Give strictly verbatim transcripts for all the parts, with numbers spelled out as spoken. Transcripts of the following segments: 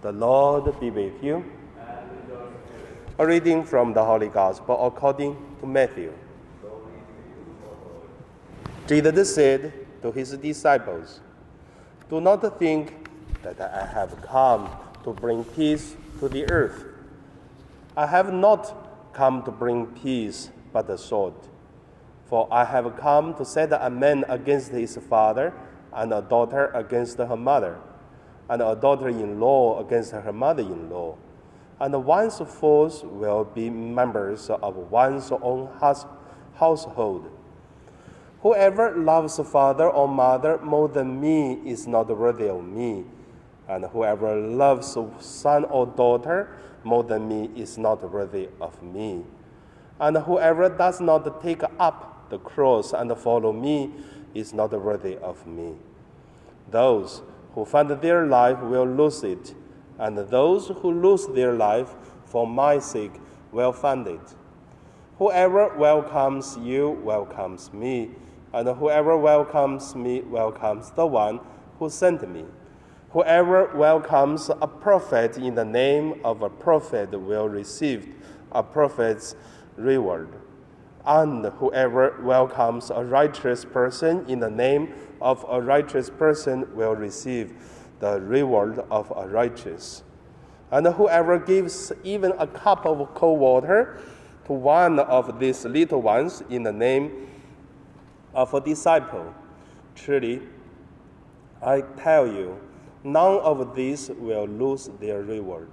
The Lord be with you. And with your spirit. A reading from the Holy Gospel according to Matthew. Jesus said to his disciples, "Do not think that I have come to bring peace to the earth. I have not come to bring peace, but a sword. For I have come to set a man against his father, and a daughter against her mother, and a daughter-in-law against her mother-in-law. And one's foes will be members of one's own house, household. Whoever loves father or mother more than me is not worthy of me, and whoever loves son or daughter more than me is not worthy of me. And whoever does not take up the cross and follow me is not worthy of me. Those who find their life will lose it, and those who lose their life for my sake will find it. Whoever welcomes you welcomes me, and whoever welcomes me welcomes the one who sent me. Whoever welcomes a prophet in the name of a prophet will receive a prophet's reward. And whoever welcomes a righteous person in the name of a righteous person will receive the reward of a righteous. And whoever gives even a cup of cold water to one of these little ones in the name of a disciple, truly, I tell you, none of these will lose their reward."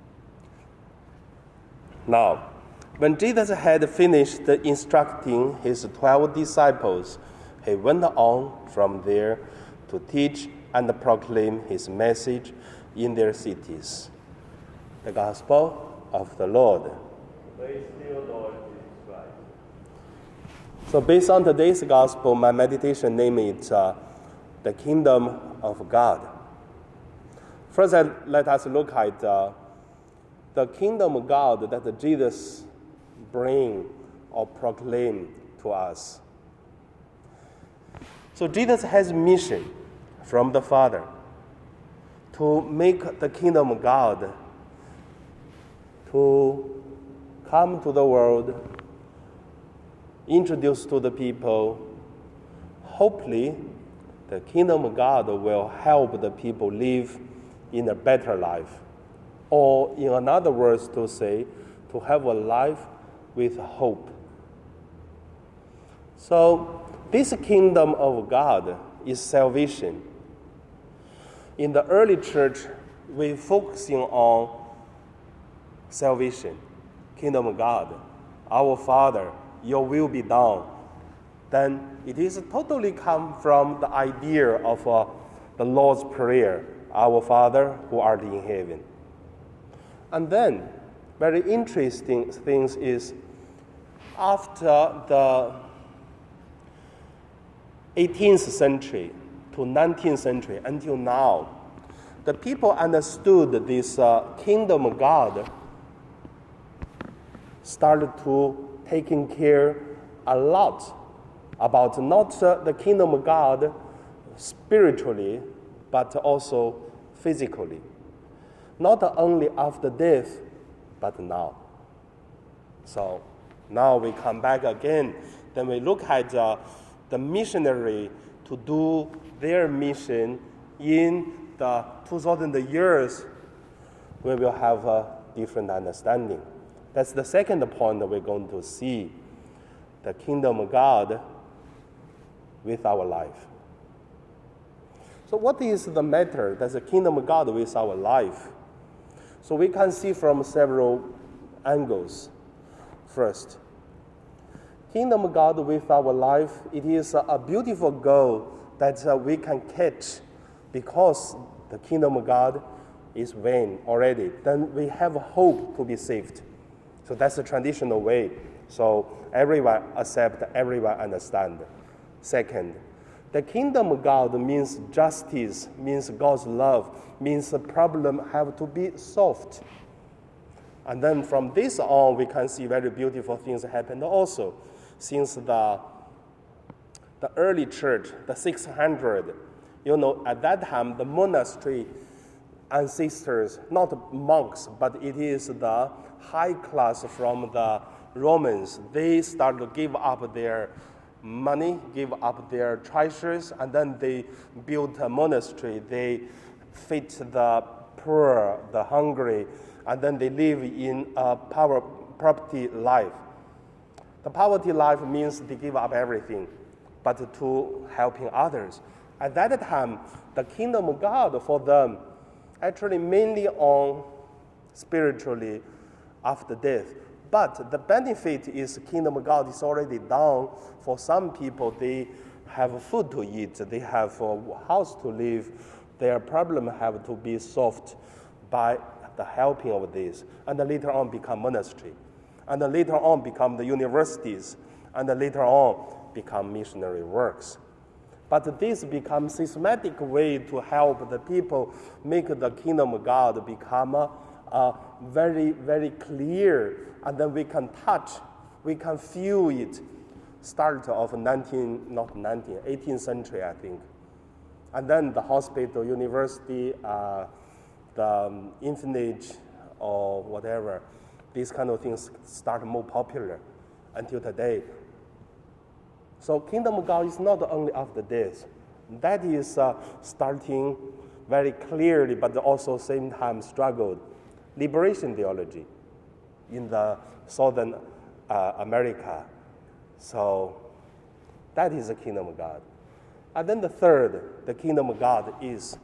Now, when Jesus had finished instructing his twelve disciples, he went on from there to teach and proclaim his message in their cities. The Gospel of the Lord. Praise to you, Lord Jesus Christ. So based on today's Gospel, my meditation name is uh, The Kingdom of God. First, uh, let us look at uh, the kingdom of God that Jesus bring or proclaim to us. So Jesus has a mission from the Father to make the kingdom of God to come to the world, introduce to the people. Hopefully, the kingdom of God will help the people live in a better life. Or in another words to say, to have a life with hope. So, this kingdom of God is salvation. In the early church, we focusing on salvation, kingdom of God. Our Father, your will be done. Then it is totally come from the idea of uh, the Lord's Prayer, our Father who art in heaven. And then, very interesting thing is, after the eighteenth century to nineteenth century until now, the people understood this uh, kingdom of God started to taking care a lot about not uh, the kingdom of God spiritually, but also physically. Not only after death, but now. So now we come back again. Then we look at uh, the missionary to do their mission in the two thousand years. We will have a different understanding. That's the second point that we're going to see. The kingdom of God with our life. So what is the matter? That's the kingdom of God with our life. So we can see from several angles. First, kingdom of God with our life, it is a beautiful goal that uh, we can catch because the kingdom of God is vain already. Then we have hope to be saved. So that's the traditional way. So everyone accept, everyone understand. Second, the kingdom of God means justice, means God's love, means the problem have to be solved. And then from this on, we can see very beautiful things happen also. Since the, the early church, the six hundred, you know, at that time, the monastery ancestors, not monks, but it is the high class from the Romans. They start to give up their money, give up their treasures, and then they built a monastery. They feed the poor, the hungry, and then they live in a power, poverty life. The poverty life means they give up everything, but to helping others. At that time, the kingdom of God for them actually mainly on spiritually after death. But the benefit is kingdom of God is already done. For some people, they have food to eat, they have a house to live, their problem have to be solved by the helping of this. And then later on become monastery. And then later on become the universities. And then later on become missionary works. But this becomes systematic way to help the people make the kingdom of God become a, a very, very clear, and then we can touch, we can feel it. Start of nineteen, not nineteen, eighteenth century, I think. And then the hospital, university, uh, the um, orphanage, or whatever, these kind of things start more popular until today. So kingdom of God is not only after death. That is uh, starting very clearly, but also same time struggled. Liberation theology in the Southern uh, America. So that is the kingdom of God. And then the third, the kingdom of God is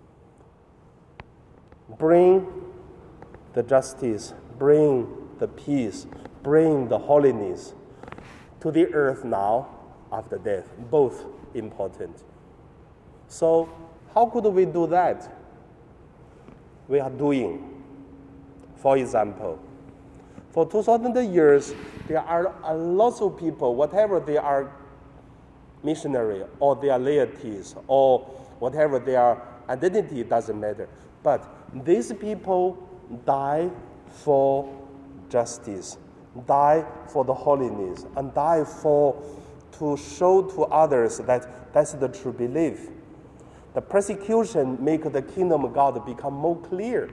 bring the justice, bring the peace, bring the holiness to the earth now after death, both important. So how could we do that? We are doing. For example, for two thousand years, there are a lot of people, whatever they are missionary or their laities or whatever their identity, doesn't matter. But these people die for justice, die for the holiness, and die for to show to others that that's the true belief. The persecution make the kingdom of God become more clear.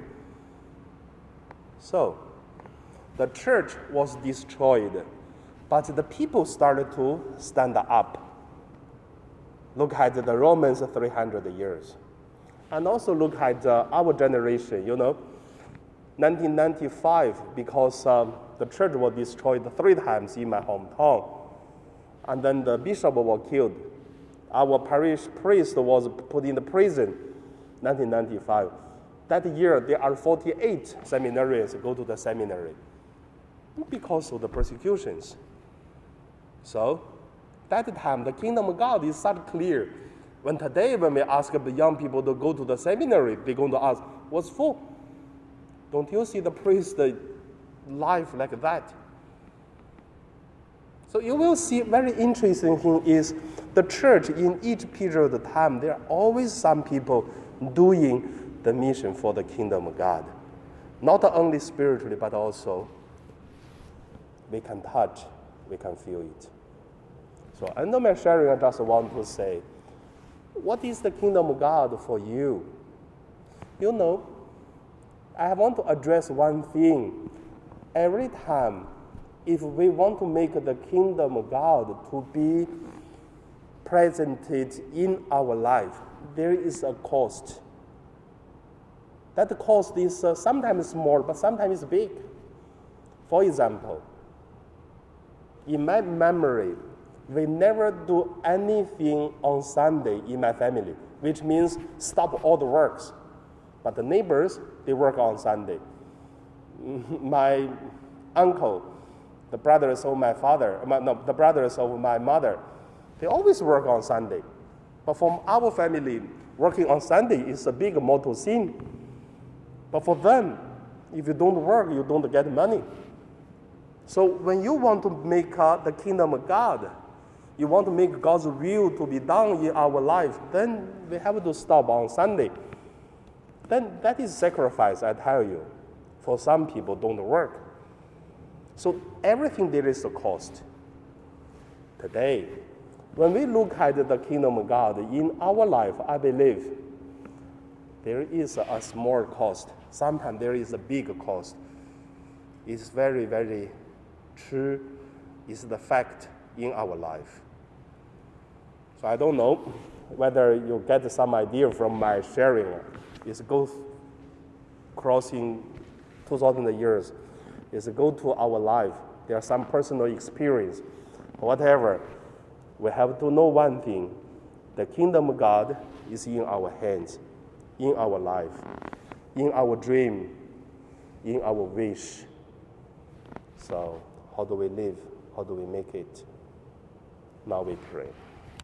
So, the church was destroyed, but the people started to stand up. Look at the Romans three hundred years. And also look at uh, our generation, you know, nineteen ninety-five, because um, the church was destroyed three times in my hometown. And then the bishop was killed. Our parish priest was put in the prison, nineteen ninety-five. That year, there are forty-eight seminarians go to the seminary because of the persecutions. So, that time, the kingdom of God is such clear. When today, when we ask the young people to go to the seminary, they're going to ask, what's for? Don't you see the priest life like that? So you will see very interesting thing is the church in each period of time, there are always some people doing the mission for the kingdom of God. Not only spiritually, but also we can touch, we can feel it. So under my sharing, I just want to say, what is the kingdom of God for you? You know, I want to address one thing. Every time, if we want to make the kingdom of God to be presented in our life, there is a cost. That cost is uh, sometimes small, but sometimes big. For example, in my memory, we never do anything on Sunday in my family, which means stop all the works. But the neighbors, they work on Sunday. My uncle, the brothers of my father, no, the brothers of my mother, they always work on Sunday. But from our family, working on Sunday is a big mortal sin. But for them, if you don't work, you don't get money. So when you want to make uh, the kingdom of God, you want to make God's will to be done in our life, then we have to stop on Sunday. Then that is sacrifice, I tell you. For some people, don't work. So everything there is a cost. Today, when we look at the kingdom of God in our life, I believe there is a, a small cost. Sometimes there is a big cost. It's very, very true. It's the fact in our life. So I don't know whether you get some idea from my sharing. It's go crossing two thousand years. It's go to our life. There are some personal experience. Whatever, we have to know one thing. The kingdom of God is in our hands, in our life, in our dream, in our wish. So how do we live? How do we make it? Now we pray.